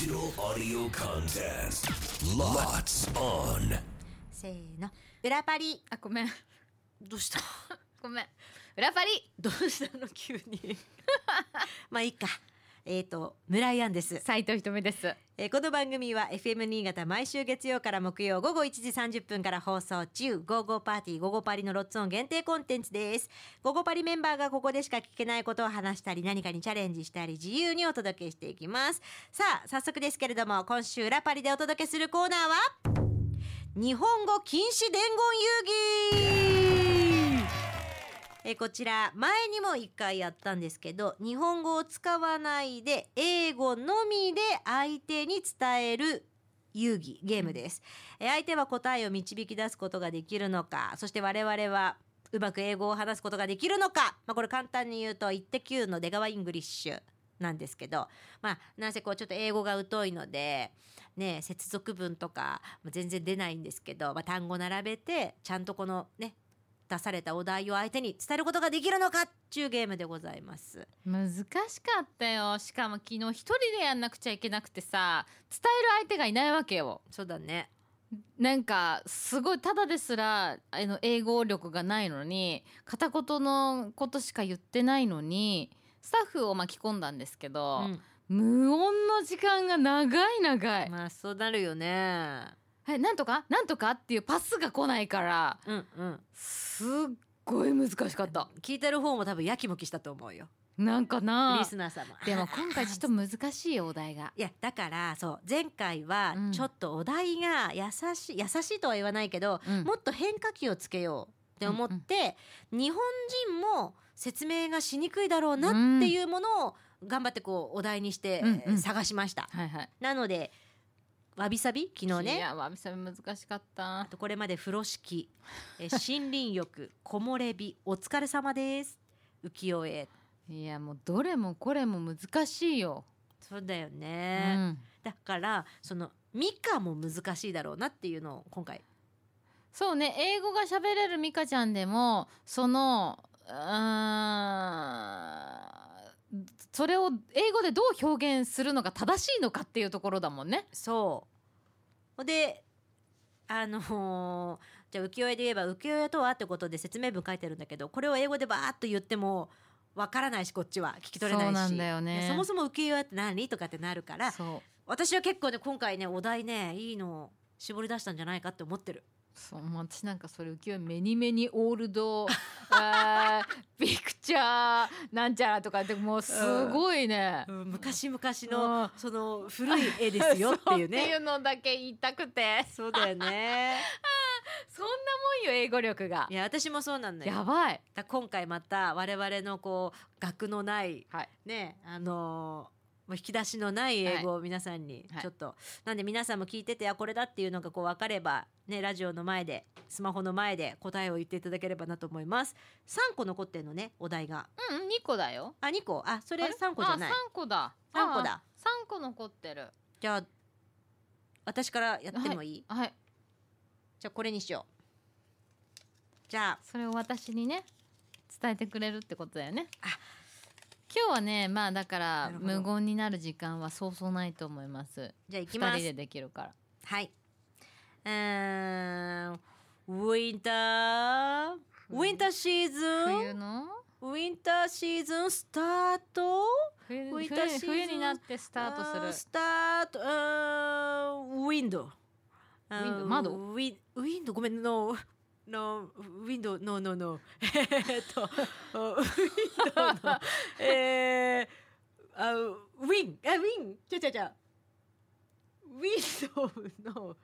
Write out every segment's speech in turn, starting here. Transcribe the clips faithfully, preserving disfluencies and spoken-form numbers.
Digital audio contest. Lots on. せーの、裏パリ。 あ、ごめんどうしたごめん裏パリどうしたの急にまあいいか。えーと村井杏です。 斉藤ひとみです。 えーこの番組は エフエム 新潟毎週月曜から木曜午後いちじさんじゅっぷんから放送中、ゴーゴーパーティーゴーゴーパリのロッツオン限定コンテンツです。ゴーゴーパリメンバーがここでしか聞けないことを話したり、何かにチャレンジしたり、自由にお届けしていきます。さあ早速ですけれども、今週裏パリでお届けするコーナーは日本語禁止伝言遊戯。えこちら前にもいっかいやったんですけど、日本語を使わないで英語のみで相手に伝える遊戯ゲームです。え相手は答えを導き出すことができるのか、そして我々はうまく英語を話すことができるのか、まあ、これ簡単に言うとイッテ Q の出川イングリッシュなんですけど、まあなんせこうちょっと英語が疎いのでね、接続文とか全然出ないんですけど、まあ、単語並べてちゃんとこのね出されたお題を相手に伝えることができるのかっていうゲームでございます。 難しかったよ。しかも昨日一人でやんなくちゃいけなくてさ、伝える相手がいないわけよ。 そうだね。 なんかすごいただですらあの英語力がないのに、片言のことしか言ってないのにスタッフを巻き込んだんですけど、うん、無音の時間が長い長い。 まあそうなるよね。 はい、なんとかなんとかっていうパスが来ないから、 うんうん、 すっごい難しかった。 聞いてる方も多分やきもきしたと思うよ。 なんかなリスナーさんも。 でも今回ちょっと難しいよお題が。 いやだからそう前回はちょっとお題が優しい、優しいとは言わないけど、うん、もっと変化球をつけようって思って、うんうん、日本人も説明がしにくいだろうなっていうものを頑張ってこうお題にして、うんうん、探しました、 はいはい、 なのでわびさび昨日ね。 いやわびさび難しかった。 あとこれまで風呂敷、え森林浴、木漏れ日、お疲れ様です、浮世絵。 いやもうどれもこれも難しいよ。 そうだよね、うん、だからそのミカも難しいだろうなっていうのを今回。 そうね、英語が喋れるミカちゃんでもそのうーんそれを英語でどう表現するのが正しいのかっていうところだもんね。 そうであのー、じゃあ浮世絵で言えば浮世絵とはってことで説明文書いてるんだけど、これを英語でバーッと言ってもわからないし、こっちは聞き取れないし。 そうなんだよね。 そもそも浮世絵って何とかってなるから、私は結構ね今回ねお題ねいいの絞り出したんじゃないかって思ってる。 そう、私なんかそれ浮世絵メニメニオールドあピクチャーなんちゃらとかってもうすごいね、 うんうん、昔々のその古い絵ですよっていうねっていうのだけ言いたくて。 そうだよねそんなもんよ英語力が。 いや私もそうなんだよ。 やばい。 だ今回また我々のこう学のない、はい、ねあのーもう引き出しのない英語を皆さんにちょっと、はい、なんで皆さんも聞いてて、あこれだっていうのがこう分かればね、ラジオの前でスマホの前で答えを言っていただければなと思います。さんこ残ってんのねお題が。 うんにこだよ。 あにこ、あそれさんこじゃない。 あさんこださんこだ。 さんこ残ってる。 じゃあ私からやってもいい？ はい、はい、 じゃあこれにしよう。じゃあそれを私にね伝えてくれるってことだよね。あ今日はねまあだから無言になる時間はそうそうないと思います。 じゃあ行きます。 ふたりでできるから。 はい。うーんウィンターウィンターシーズン、 冬のウィンターシーズンスタート。 冬、ウィンターシーズン冬になってスタートする。 スタートウィンドウィンド窓ウィウィンドごめんののウィンドウノーノーノーえっとウィンドウのえー、あウィンあウィンちゃちゃちゃウィンドウの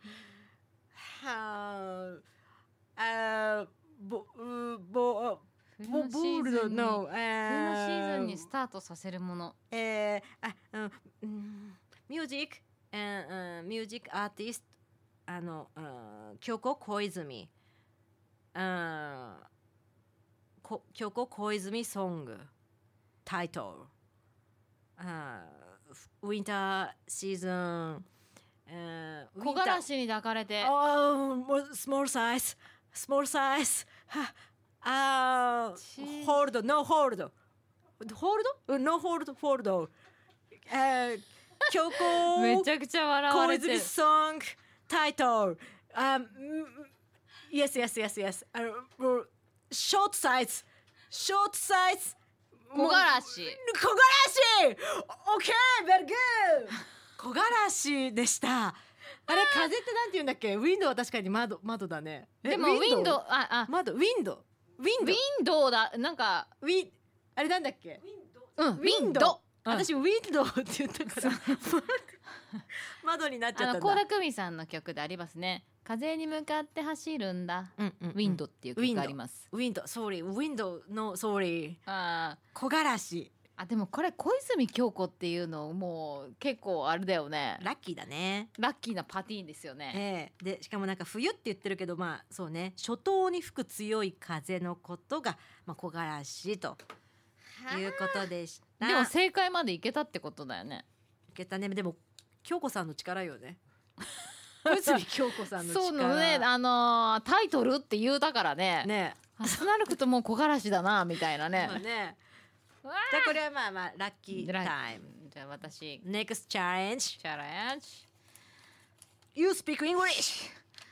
はあボボボボールドの冬のシーズンにスタートさせるもの。 えー、あうんミュージックミュージックアーティストあの京子小泉Uh, 京子小泉ソングタイトル、uh, ウィンターシーズン、 uh, 木枯らしに抱かれて、 oh, small size small size uh, hold no hold hold no hold hold、uh, 京子めちゃくちゃ笑わ小れてる泉ソングタイトル、um, yes yes yes yes あのもうショートサイズショートサイズ木枯らし木枯らし OK very good 木枯らしでした。あれ風ってなんて言うんだっけ。ウィンドウは確かに窓窓だね。 でもウィンドウああ窓ウィンドウウィンドウウィンドウだなんかウィンあれなんだっけ。 うんウィンドウ、うん、 私ウィンドウって言ったから窓になっちゃったんだ。 倖田來未さんの曲でありますね。風に向かって走るんだ、 うんうんうん、 ウィンドっていう曲があります。 ウィンドウ sorry ウィンドウの sorry あ木枯らし。 あでもこれ小泉京子っていうのもう結構あれだよね。 ラッキーだね。 ラッキーなパティーンですよね、 えー、でしかもなんか冬って言ってるけどまあそうね初冬に吹く強い風のことが、まあ、木枯らしということでした。 でも正解までいけたってことだよね。 いけたね。でも京子さんの力よね小泉京子さんの力。 そうのねあのー、タイトルって言うだからねねそうなるともう木枯らしだなみたいなねねじゃあこれはまあまあラッキータイム。 じゃあ私 Next challenge チャレンジ You speak English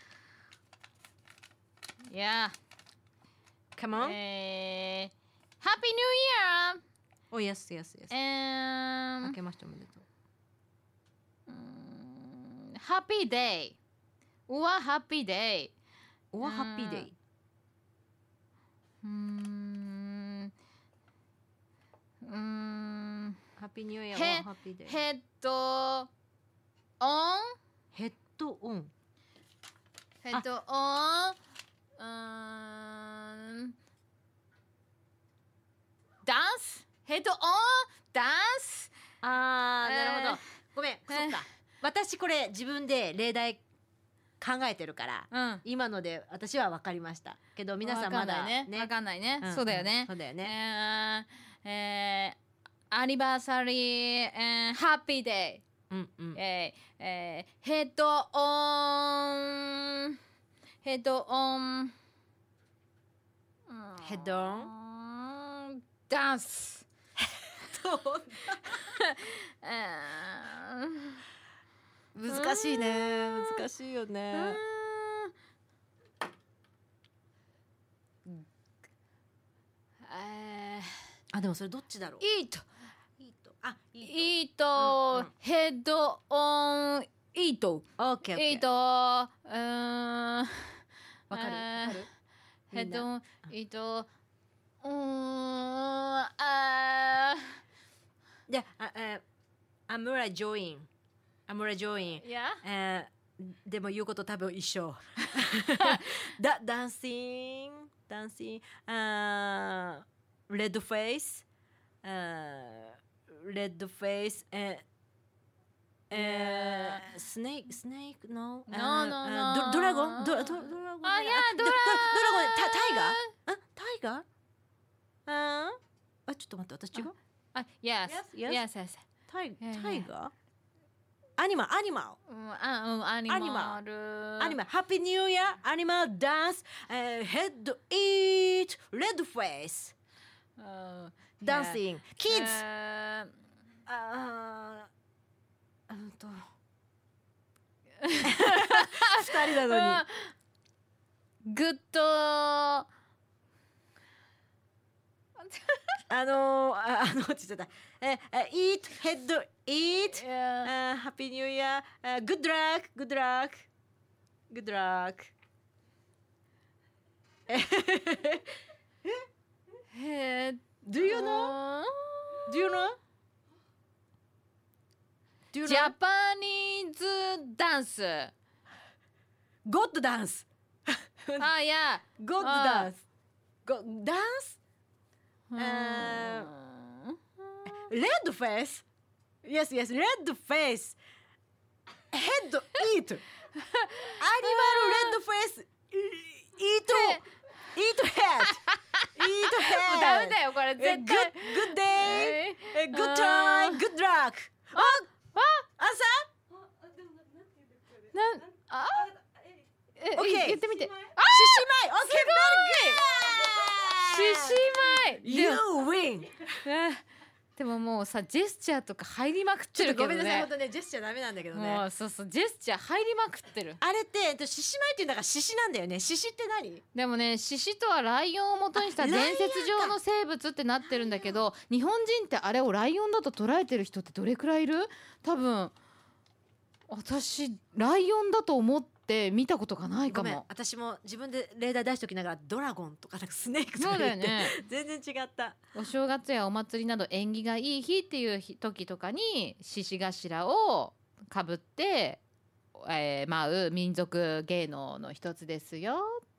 Yeah Come on、 えー、Happy New Year Oh yes yes yes、 um, 明けましておめでとう。 Happy Day うわ Happy Day うわ Happy Day うーんうーん Happy New Year へは Happy Day ヘッドオンヘッドオンヘッドオンうーんダンスヘッドオンダンスあー、 えーなるほどごめんそっか私これ自分で例題考えてるから、 うん、 今ので私は分かりましたけど皆さんまだね分かんないね、 うん、 そうだよね、 うん、そうだよね、 えーえー、アニバーサリー、えー、ハッピーデイ、 うんうん、 えーえー、ヘッドオンヘッドオンヘッドオンダンス難しいね難しいよね。あでもそれどっちだろう。 イートイートあイート、うんうん、ヘッドオンイートオッケーオッケーイートわかるわかるヘッドオンイートうーんあじゃあえアムラジョインアムラジョイン、 yeah? でも言うこと多分一緒ダダンシンダンシンあレッドフェイスレッドフェイスええスネークスネーク no no no no ドラゴンドラゴンあいやドラドラゴンタタイガーあタイガーああちょっと待って私違うあ yes yes yes yes タイタイガーアニマルアニマル、 うん、あうんアニマルアニマルハッピーニューイヤーアニマルダンスヘッドイートレッドフェイスダンシングキッズああうんと二人なのにグッドあのー、ああのって言っちゃったえイートヘッドイートハッピーニューイヤーグッドラックグッドラックグッドラックえ Do you know? Do you know? Do you know? ジャパニーズダンスゴッドダンスあいやゴッドダンスゴダンスレッドフェイス Yes, yes, レッドフェイスヘッドイートアニマルレッドフェイスイートイートヘッドイートヘッドダメだよこれ絶対 Good, good day Good time Good luck ああ朝なんあえ OK 言ってみて獅子舞 OK, very good 獅子舞 You win でももうさジェスチャーとか入りまくってるけどね。 ごめんなさい、本当ねジェスチャーダメなんだけどね。 もうそうそうジェスチャー入りまくってる。 あれってえっと獅子舞っていうんだから獅子なんだよね。獅子って何？ でもね獅子とはライオンを元にした伝説上の生物ってなってるんだけど、日本人ってあれをライオンだと捉えてる人ってどれくらいいる？多分私ライオンだと思って見たことがないかごめん、 も。 私も自分で例題出しておきながらドラゴンとかなんかスネークとかそうだ言って、 よね全然違った。 お正月やお祭りなど縁起がいい日っていう日時とかに獅子頭をかぶって、えー、舞う民族芸能の一つですよ。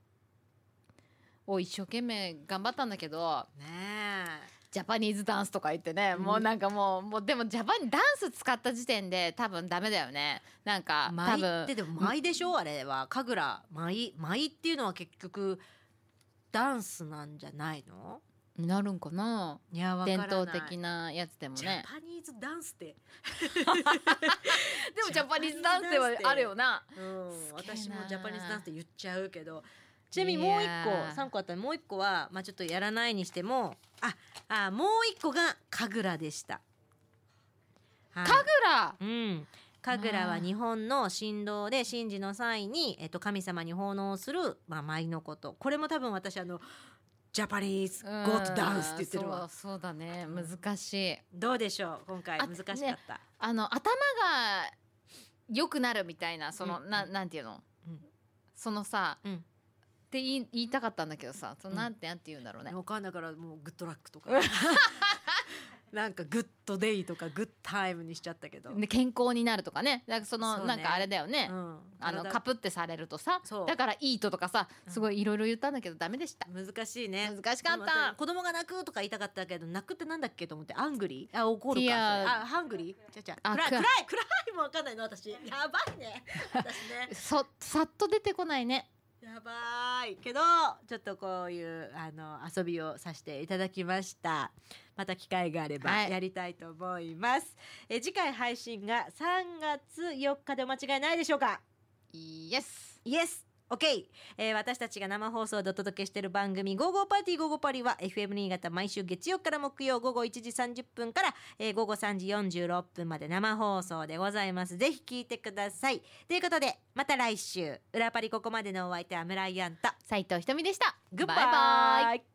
お一生懸命頑張ったんだけどねえ、 ジャパニーズダンスとか言ってね、 うんもうなんかもうもうでもジャパニダンス使った時点で多分ダメだよね。なんか多舞分ってでも舞でしょ、あれは神楽舞。舞っていうのは結局ダンスなんじゃないの？ なるんかな。 いやわからない。 伝統的なやつでもジャね。 パニーズダンスってでもジャパニーズダンスではあるよな。 うん、 すげえな私もジャパニーズダンスって言っちゃうけど、ちなみにもう一いやー個さんこあったらもう一個は、まあ、ちょっとやらないにしてもああもう一個が神楽でした。はい、 神楽うん神楽は日本の神道で神事の際に、えっと、神様に奉納する、まあ、舞のこと。これも多分私あのジャパニーズゴッドダンスって言ってるわ。 そうそうだね、難しい。 どうでしょう今回あ難しかった、 ねあの頭が良くなるみたいなその、 うんななんていうの、 うんそのさ、 うんって言い言いたかったんだけどさ、そのうんなんてなんて言うんだろうね。 わかんないからもうグッドラックとかなんかグッドデイとかグッタイムにしちゃったけど、 で健康になるとかね。だからそのそうねなんかあれだよね。 うん、 あの体カプってされるとさそう、 だからいいととかさ、すごいいろいろ言ったんだけどダメでした。 難しいね。 難しかったでも私子供が泣くとか言いたかったけど、泣くってなんだっけと思って、アングリーあ怒るか、 いやそれあハングリーちゃちゃあく暗い暗い暗いもわかんないの私。やばいね私ねそさっと出てこないね。 やばいけどちょっとこういうあの遊びをさせていただきました。また機会があればはいやりたいと思います、え次回配信がさんがつよっかでお間違いないでしょうか？ イエス。 イエスOK、えー、私たちが生放送でお届けしている番組「ゴーゴーパーティーゴーゴーパリ」は エフエム 新潟毎週月曜から木曜午後いちじさんじゅっぷんから、えー、午後さんじよんじゅうろっぷんまで生放送でございます。ぜひ聞いてください。ということでまた来週。裏パリここまでのお相手は村井アンと斉藤ひとみでした。 グッバイバイバイ。